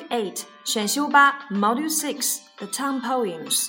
8选修8 Module 6 The Town Poems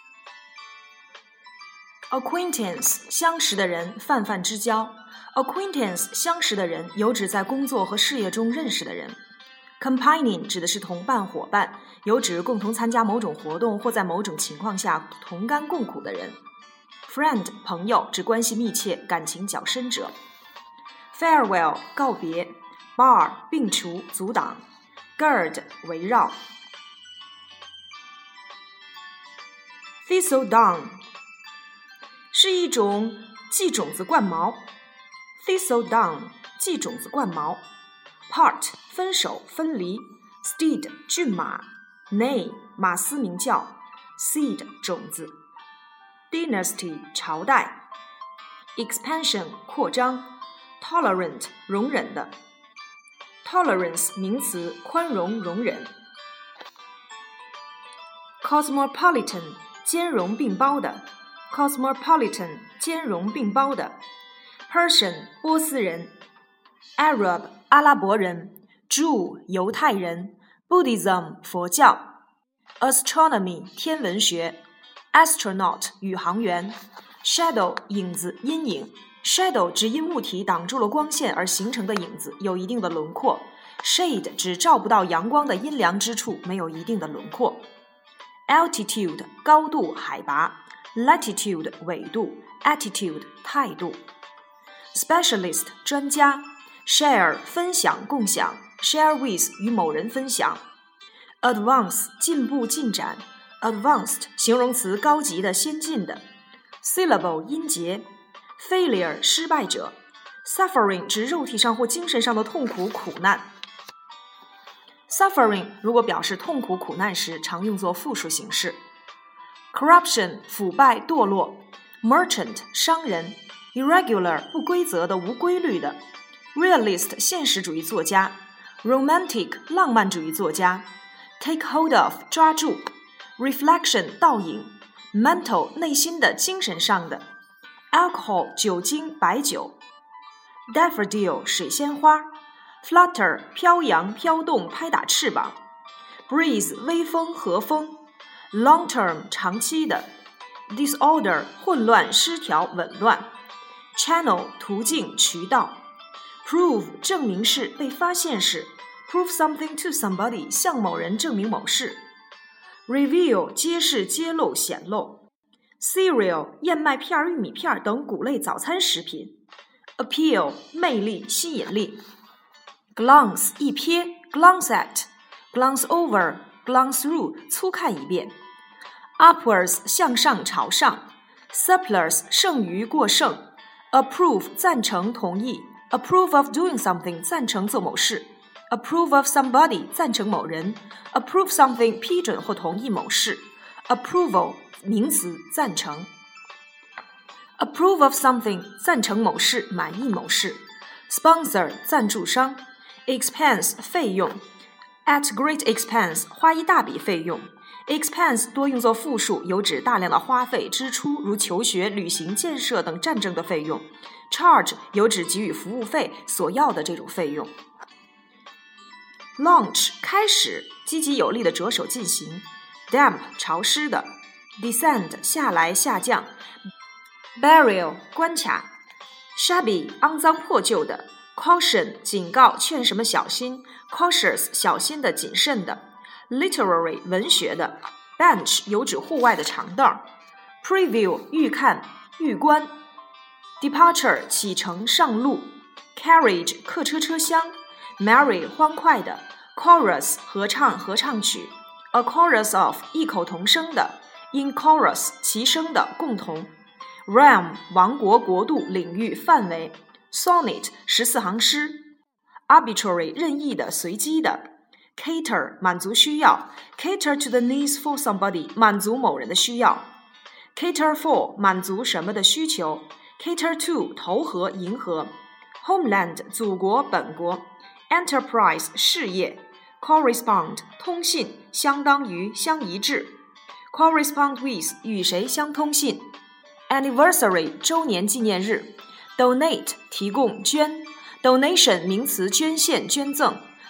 Acquaintance 相识的人，泛泛之交。Acquaintance 相识的人，有指在工作和事业中认识的人。Companion 指的是同伴伙伴，有指共同参加某种活动或在某种情况下同甘共苦的人。Friend 朋友，指关系密切、感情较深者。Farewell 告别。Bar 并除、阻挡。Gird 围绕。Thistledown是一种系种子冠毛。Thistledown 系种子冠毛。Part 分手分离。Steed 骏马。Neigh 马嘶鸣叫。Seed 种子。Dynasty 朝代。Expansion 扩张。Tolerant 容忍的。Tolerance 名词，宽容容忍。Cosmopolitan 兼容并包的。Cosmopolitan 兼容并包的。Persian 波斯人。Arab 阿拉伯人。Jew 犹太人。Buddhism 佛教。Astronomy 天文学。Astronaut 宇航员。Shadow 影子阴影。Shadow 指因物体挡住了光线而形成的影子，有一定的轮廓。Shade 指照不到阳光的阴凉之处，没有一定的轮廓。Altitude 高度海拔。Latitude 纬度。Attitude 态度。Specialist 专家。Share 分享共享。Share with 与某人分享。Advance 进步进展。Advanced 形容词高级的先进的。Syllable 音节。Failure 失败者。Suffering 指肉体上或精神上的痛苦苦难。Suffering 如果表示痛苦苦难时，常用作复数形式。Corruption 腐败堕落。Merchant 商人。Irregular 不规则的无规律的。Realist 现实主义作家。Romantic 浪漫主义作家。Take hold of 抓住。Reflection 倒影。Mental 内心的精神上的。Alcohol 酒精白酒。Daffodil 水仙花。Flutter 飘扬飘动拍打翅膀。Breeze 微风和风。Long term 长期的。Disorder 混乱失调紊乱。Channel 途径渠道。Prove 证明是被发现是。Prove something to somebody 向某人证明某事。Reveal 揭示揭露显露。Cereal 燕麦片玉米片等谷类早餐食品。Appeal 魅力吸引力。Glance 一瞥 glance at glance over glance through 粗看一遍。Upwards 向上朝上。Surplus 剩余过剩。Approve 赞成同意。Approve of doing something 赞成做某事。Approve of somebody 赞成某人。Approve something 批准或同意某事。Approval 名词赞成。Approve of something 赞成某事满意某事。Sponsor 赞助商。Expense 费用。At great expense 花一大笔费用。Expense 多用作复数，有指大量的花费支出，如求学、旅行、建设等战争的费用。Charge 有指给予服务费所要的这种费用。Launch 开始，积极有力的着手进行。Damp 潮湿的。Descend 下来下降。Burial 关卡。Shabby 肮脏破旧的。Caution 警告劝什么小心。Cautious 小心的谨慎的。Literary 文学的。Bench 有指户外的长凳。Preview 预看预观。Departure 启程上路。Carriage 客车车厢。Merry 欢快的。Chorus 合唱合唱曲。A chorus of 异口同声的。In chorus 齐声的共同。Realm 王国国度领域范围。Sonnet 14行诗。Arbitrary 任意的随机的。Cater 满足需要。Cater to the needs for somebody 满足某人的需要。Cater for 满足什么的需求。Cater to 投合迎合。Homeland 祖国本国。Enterprise 事业。Correspond 通信相当于相一致。Correspond with 与谁相通信。Anniversary 周年纪念日。Donate 提供捐。Donation 名词捐献捐赠。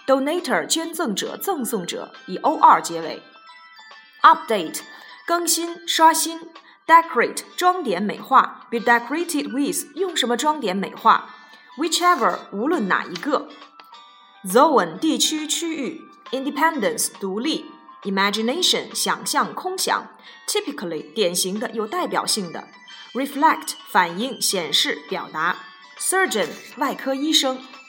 Donator 捐赠者、赠送者，以 or 结尾。Update 更新、刷新。Decorate 装点、美化。Be decorated with 用什么装点、美化。Whichever 无论哪一个。Zone 地区、区域。Independence 独立。Imagination 想象、空想。Typically 典型的、有代表性的。Reflect 反映、显示、表达。Surgeon 外科医生。